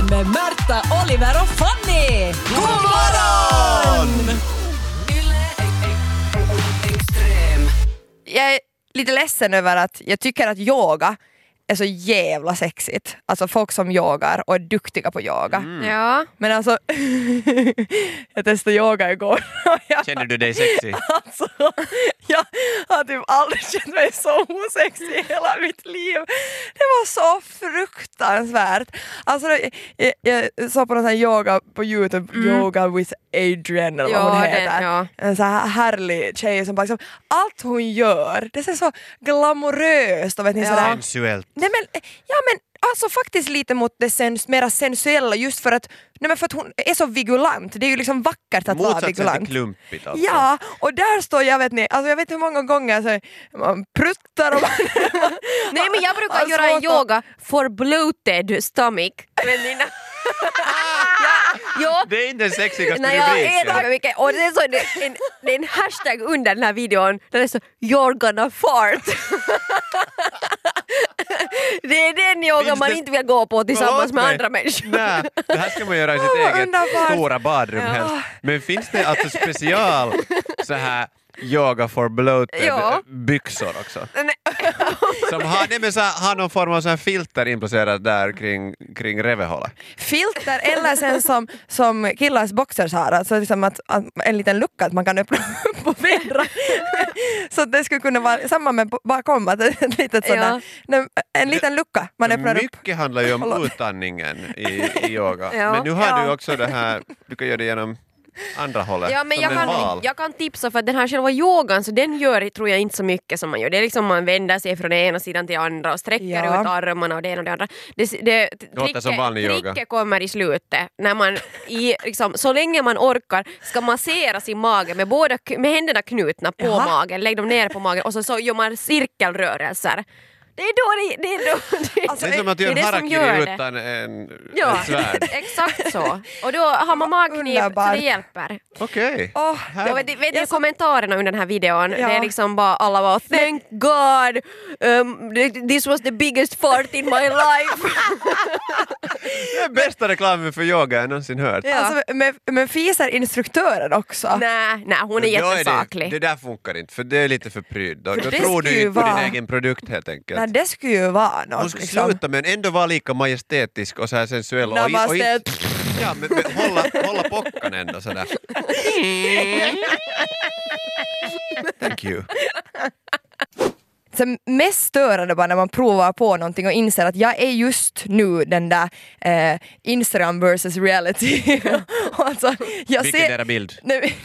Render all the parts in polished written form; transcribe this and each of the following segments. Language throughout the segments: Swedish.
Morgonpodden med Märta, Oliver och Fanny! God morgon! Jag är lite ledsen över att jag tycker att yoga är så jävla sexigt. Alltså folk som yogar och är duktiga på yoga. Ja. Men alltså, jag testade yoga igår. Känner du dig sexy? Alltså, jag har typ aldrig känt mig så osexig i hela mitt liv. Det var så fruktansvärt. Alltså, jag såg på någon sån här yoga på YouTube, Yoga with Adrian eller vad hon heter. En så här härlig tjej som bara liksom, allt hon gör, det ser så glamoröst och vet ni sådär. Sensuellt. Nej men, ja men alltså faktiskt lite mot det mera sensuella just för att, nej men för att hon är så vigulant. Det är ju liksom vackert att vara vigulant. Motsatsen till klumpigt alltså. Ja, och där står jag vet ni, alltså jag vet hur många gånger så man pruttar och Nej men jag brukar göra en yoga for bloated stomach. Men Det är inte den sexigaste när jag rubriken. äter mycket och det är, så, det är en hashtag under den här videon där det är så you're gonna fart. Det är den yoga man inte vill gå på tillsammans med andra människor. Nej, det här ska man göra i sitt eget underbart. stora badrum helst. Men finns det alltså special så här yoga for bloated byxor också? Som har någon form av så här filter inplacerat där kring revehålet. filter eller sen som killars boxers har, alltså liksom att en liten lucka att man kan öppna upp och vedra. Så det skulle kunna vara samma med bakom att ett litet sådär, en liten lucka man öppnar upp. Mycket handlar ju om utandningen i yoga. Men nu har du också det här, du kan göra det genom andra hållet. Ja, men jag kan tipsa för att den här själva yogan så den gör tror jag inte så mycket som man gör. Det är liksom man vänder sig från ena sidan till andra och sträcker ut armarna och det ena och det andra. Det låter som vanlig yoga. Tricket kommer i slutet när man liksom, så länge man orkar ska massera sin mage med händerna knutna på magen, lägg dem ner på magen och så gör man cirkelrörelser. Det är då alltså, det är som att göra harakiri utan ett svärd. Exakt så. Och då har man magknip så det hjälper. Okej. Vet ni kommentarerna under den här videon? Det är liksom bara alla var thank God this was the biggest fart in my life. Det är bästa reklamen för yoga jag någonsin hört. Ja. Alltså, men fiser instruktören också? Nej, hon är jättesaklig. Det där funkar inte för det är lite för pryd. Då det tror du inte på vara din egen produkt helt enkelt. Nej, det skulle ju vara något. Hon skulle sluta men ändå vara lika majestätisk och så här sensuell. Ja, men hålla pockan ändå sådär. Thank you. Så mest störande bara när man provar på någonting och inser att jag är just nu den där Instagram versus reality. Alltså, vilken är era bild?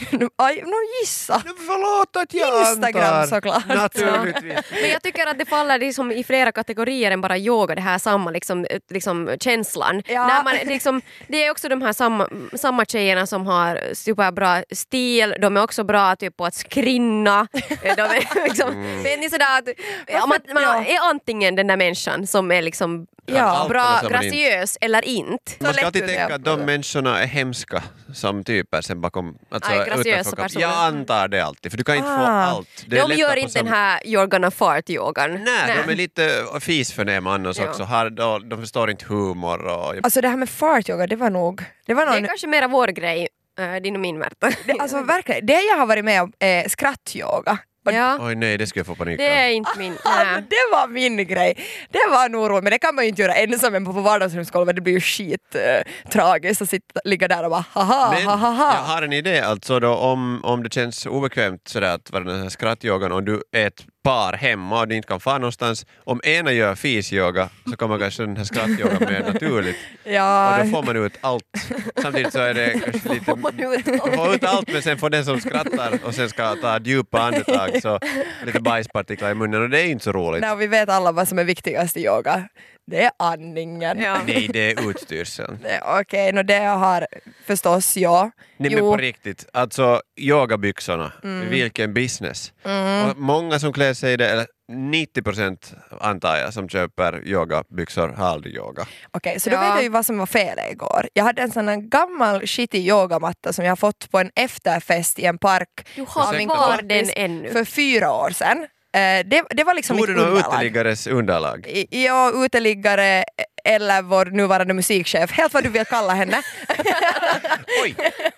Gissa. Förlåt att jag Instagram antar. såklart. Naturligtvis. Men jag tycker att det faller liksom i flera kategorier än bara yoga, det här samma liksom känslan. Ja. När man, liksom, det är också de här samma tjejerna som har superbra stil, de är också bra typ på att skrinna. De är liksom, vet ni sådär att man är antingen den där människan som är liksom bra, graciös eller inte. Man ska alltid tänka att de människorna är hemska som typer sen bakom. Alltså, graciösa personer. Jag antar det alltid, för du kan inte få allt. Det de gör inte den här you're gonna fart-yogan. Nej, de är lite fisförnäma annars också. De förstår inte humor. Alltså det här med fart-yoga, det är kanske mera vår grej, din och min Märta. Alltså verkligen, det jag har varit med om är skrattyoga. Ja. Oj nej, det skulle jag få panik. Det är inte min. Det var min grej. Det var nog roligt, men det kan man ju inte göra ensam på vardagsrumsgolvet. Det blir ju tragiskt att ligga där och bara haha. Men jag har en idé alltså då om det känns obekvämt sådär att vara den här skrattyogan och du är ett par hemma och du inte kan fara någonstans. Om ena gör fisyoga så kommer kanske den här skrattyogan mer naturligt. Ja. Och då får man ut allt. Samtidigt så är det kanske lite... Man får ut allt men sen får den som skrattar och sen ska ta djupa andetag så lite bajspartiklar i munnen och det är inte så roligt. Nej, vi vet alla vad som är viktigast i yoga. Det är andningen. Ja. Nej, det är utstyrseln. Okej, det har förstås jag. Nej, men på riktigt, alltså yogabyxorna, vilken business. Och många som klär sig i det, eller 90% antar jag som köper yogabyxor har aldrig yoga. Okej, så då vet jag ju vad som var fel igår. Jag hade en sån här gammal shitty yogamatta som jag fått på en efterfest i en park. Du har kvar den ännu. För 4 år sedan. Det var liksom Tog mitt du någon underlag. uteliggares underlag? Ja, uteliggare eller vår nuvarande musikchef, helt vad du vill kalla henne. Oj!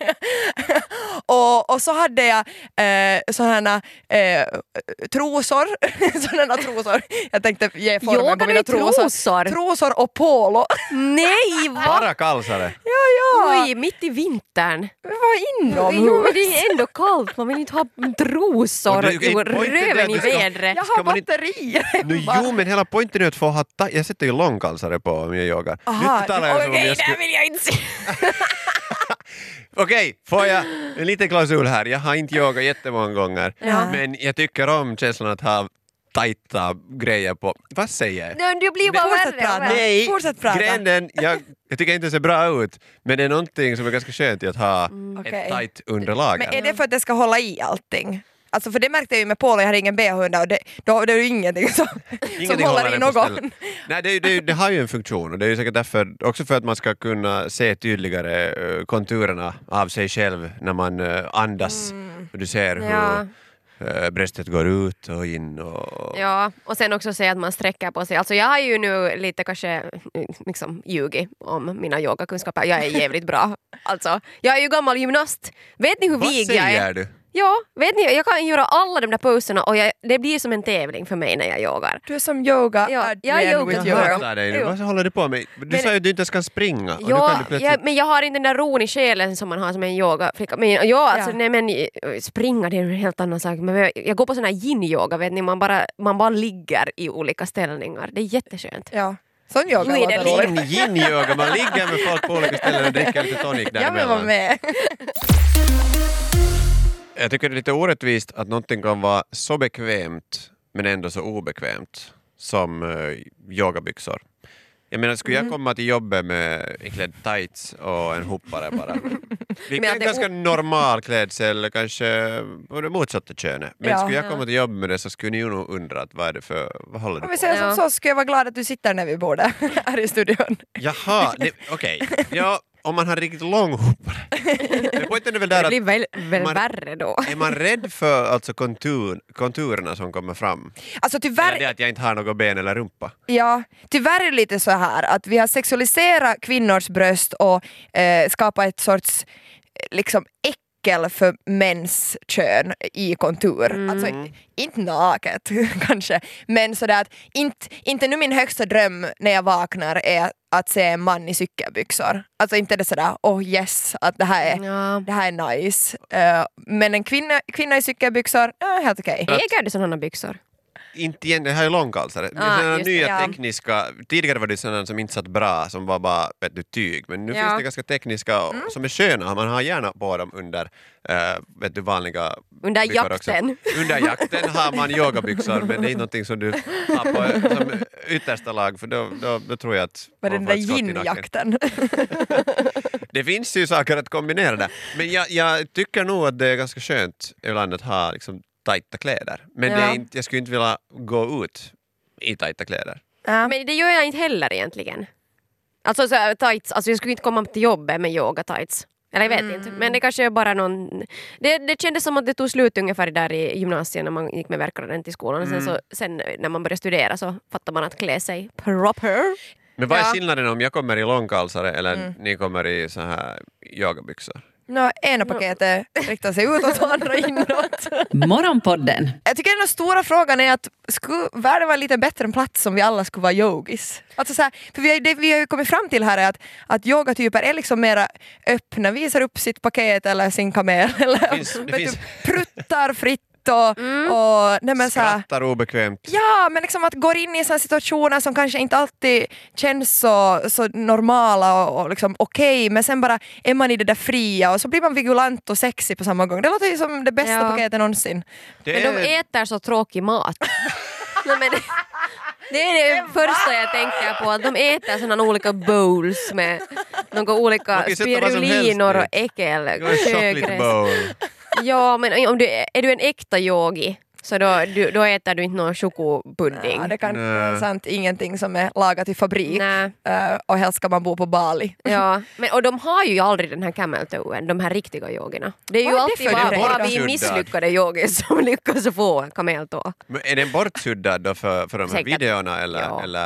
och så hade jag sådana trosor. Sådana trosor. Jag tänkte ge formen på mina trosor. Trosor och polo. Nej, va? Bara kalsare. Ja. Oj, mitt i vintern. Vad inomhus? Jo, men det är ändå kallt, man vill inte ha trosor Och det är och poängen är röven att i du ska- vädret. Jag Ska har man inte- batterier. Jo, men hela poängen är att få ha jag sätter ju långkalsare på om jag yogar. Aha, Nu talar jag som om Okej, jag det skulle... vill jag inte se. Okej, får jag en liten klausul här. Jag har inte yogat jättemånga gånger, Ja. men jag tycker om känslan att ha tajta grejer på. Vad säger jag? Nej, det blir bara Fortsätt värre och prata. värre. Nej, Fortsätt prata. grejen jag tycker inte det ser bra ut, men det är någonting som är ganska skönt i att ha Okej. ett tajt underlag. Men är det för att det ska hålla i allting? Alltså för det märkte jag ju med Paul, jag har ingen BH-hund och det är ju ingenting som håller i den på någon. stället. Nej, det har ju en funktion och det är ju säkert därför, också för att man ska kunna se tydligare konturerna av sig själv när man andas. Och du ser Ja. hur bröstet går ut och in och... Ja, och sen också säga att man sträcker på sig. Alltså jag har ju nu lite kanske liksom ljugit om mina yogakunskaper. Jag är jävligt bra. Alltså, jag är ju gammal gymnast. Vet ni hur Vad vig jag är? säger du? Ja, vet ni, jag kan göra alla de där poserna och det blir som en tävling för mig när jag yogar. Du är som yoga Ja, Adrian jag är yoga with girl. yoga. Hatar dig nu. Jo. Vad håller du på med? Du Men- sa ju att du inte ens kan springa. Och nu Ja, kan du plötsligt... men jag har inte den där ron i själen som man har som en yogaflicka. Men ja, alltså, Ja. nej, men springa det är en helt annan sak. Men jag går på sån här yin-yoga, vet ni, man bara ligger i olika ställningar. Det är jätteskönt. Ja, sån yoga Nu är det låter roligt. Yin-yoga, man ligger med folk på olika ställen och dricker lite tonic Jag vill vara däremellan. med. Jag tycker det är lite orättvist att någonting kan vara så bekvämt men ändå så obekvämt som yogabyxor. Jag menar, skulle jag komma till jobbet med klädd tights och en hoppare bara? Vilket Men är att en det är ganska normal klädsel, kanske på det motsatta könet. Men Ja. skulle jag komma till jobbet med det så skulle ni ju nog undra att vad håller du Om vi på säger med? som så skulle jag vara glad att du sitter när vi bor där här i studion. Jaha, okej. Ja, om man har riktigt lång hoppare. Men poängen är väl där Det att blir väl man- värre då. är man rädd för alltså konturerna som kommer fram? Alltså Eller tyvärr, det att jag inte har något ben eller rumpa? ja, tyvärr är det lite så här att vi har sexualiserat kvinnors bröst och skapat ett sorts liksom äckel för mäns kön i kontur. Alltså inte naket kanske, men sådär att inte nu min högsta dröm när jag vaknar är att se en man i cykelbyxor. Alltså inte det sådär, yes, att det här är nice. Men en kvinna i cykelbyxor, helt okej. Äger du sådana byxor? Inte igen, det här är långkalsare. Det är Ah, sådana just det, nya ja. tekniska, tidigare var det sådana som inte satt bra, som var bara tyg, men nu Ja. finns det ganska tekniska som är sköna, man har gärna på dem under vanliga Under byxor också. jakten. Under jakten har man yogabyxor, men det är inte någonting som du har på som yttersta lag, för då tror jag att Med man den får där ett skott i nacken. yin-jakten. Det finns ju saker att kombinera där, men jag tycker nog att det är ganska skönt ibland att ha liksom tajta kläder. Men det är inte, jag skulle inte vilja gå ut i tajta kläder. Ja. Men det gör jag inte heller egentligen. Alltså så här, tights, alltså jag skulle inte komma till jobbet med yoga tights. Eller jag vet inte, men det kanske är bara någon... Det kändes som att det tog slut ungefär där i gymnasiet när man gick med verkaren till skolan. Och sen när man började studera så fattar man att klä sig proper. Men vad är Ja. skillnaden om jag kommer i långkalsare eller ni kommer i så här yogabyxor? Ena paketet riktar sig utåt och andra inåt. Morgonpodden. Jag tycker den stora frågan är att skulle världen vara lite bättre en plats om vi alla skulle vara yogis? Alltså så här, för det vi har ju kommit fram till här är att yogatyper är liksom mera öppna, visar upp sitt paket eller sin kamel eller Det finns- pruttar fritt och nej men så här, Skrattar obekvämt. ja, men liksom att gå in i såna situationer som kanske inte alltid känns så normala och liksom okej, men sen bara är man i det där fria och så blir man vigulant och sexig på samma gång. Det låter ju som det bästa Ja. paketet någonsin. Det Men de äter så tråkig mat. Nej, men det är det första jag tänker på, att de äter sådana olika bowls med några olika Man kan sätta vad som helst spirulinor och dit. äckel. Det var en chocolate bowl. Ja, men om är du en äkta yogi så då äter du inte någon chokopudding. Ja, det kan Nej. vara sant, ingenting som är lagat i fabrik. Nej. Och helst ska man bo på Bali. Ja, och de har ju aldrig den här camel toe-en, de här riktiga yogerna. Det är ju Vad är det alltid för bara, grej bara då? vi misslyckade yogis som lyckas få kameltå. Men är den bortsuddad då för de här Säkert. videorna eller, Ja. eller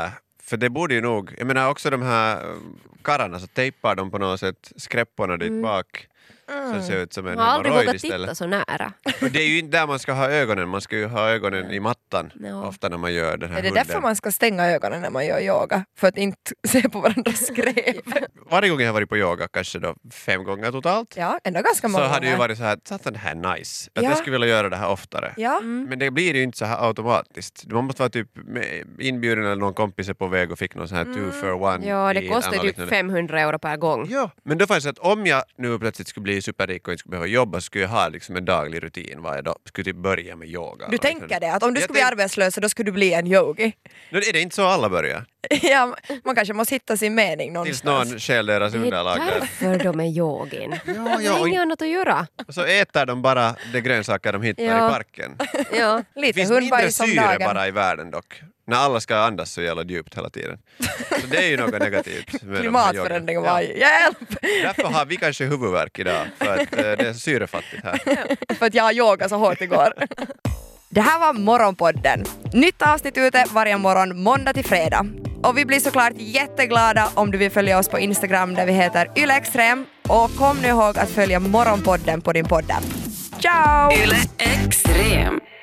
För det borde ju nog, jag menar också de här kararna så tejpar de på något sätt skräpporna dit bak. Så det ser ut som en Jag har aldrig hemorrojd vågat istället. titta så nära. Och det är ju inte där man ska ha ögonen, man ska ju ha ögonen i mattan ofta när man gör den här Är det hunden. därför man ska stänga ögonen när man gör yoga? För att inte se på varandras skrev? Varje gång jag har varit på yoga, kanske då 5 gånger totalt, Ja, ändå ganska många så hade det ju gånger. varit så här, satan det här är nice. Att Ja. jag skulle vilja göra det här oftare. Ja, Men det blir ju inte så här automatiskt. Man måste vara typ inbjuden eller någon kompis är på väg och fick någon sån här 2 for 1. Ja, det kostar typ 500 euro per gång. Ja, men då fanns det att om jag nu plötsligt skulle bli superrik och inte skulle behöva jobba så skulle jag ha liksom en daglig rutin varje dag. Skulle typ börja med yoga. du tänker det? Att om du Jag skulle bli arbetslös så då skulle du bli en yogi? Nu är det inte så alla börjar. Ja, man kanske måste hitta sin mening Tills någonstans. någon stjäl deras Det är underlag där. därför de är yogin. Ja, Det är inget annat att göra. och så äter de bara de grönsaker de hittar Ja. i parken. Ja. Det Lite finns mindre hundbajs om syre dagen. bara i världen dock. När alla ska andas så jävla djupt hela tuden. Så det är ju något negativt. Med de här Klimatförändring yoga. var hjälp! Därför har vi kanske huvudvärk idag. För att det är syrefattigt här. För att jag har yogat så hårt igår. Det här var Morgonpodden. Nytt avsnitt ute varje morgon måndag till fredag. Och vi blir såklart jätteglada om du vill följa oss på Instagram där vi heter ylextrem. Och kom nu ihåg att följa Morgonpodden på din podd. Ciao! Yle Extrem.